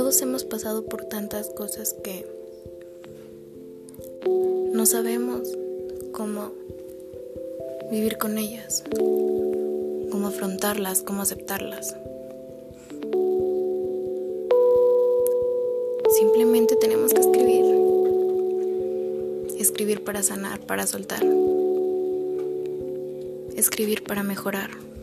Todos hemos pasado por tantas cosas que no sabemos cómo vivir con ellas, cómo afrontarlas, cómo aceptarlas. Simplemente tenemos que escribir para sanar, para soltar, escribir para mejorar.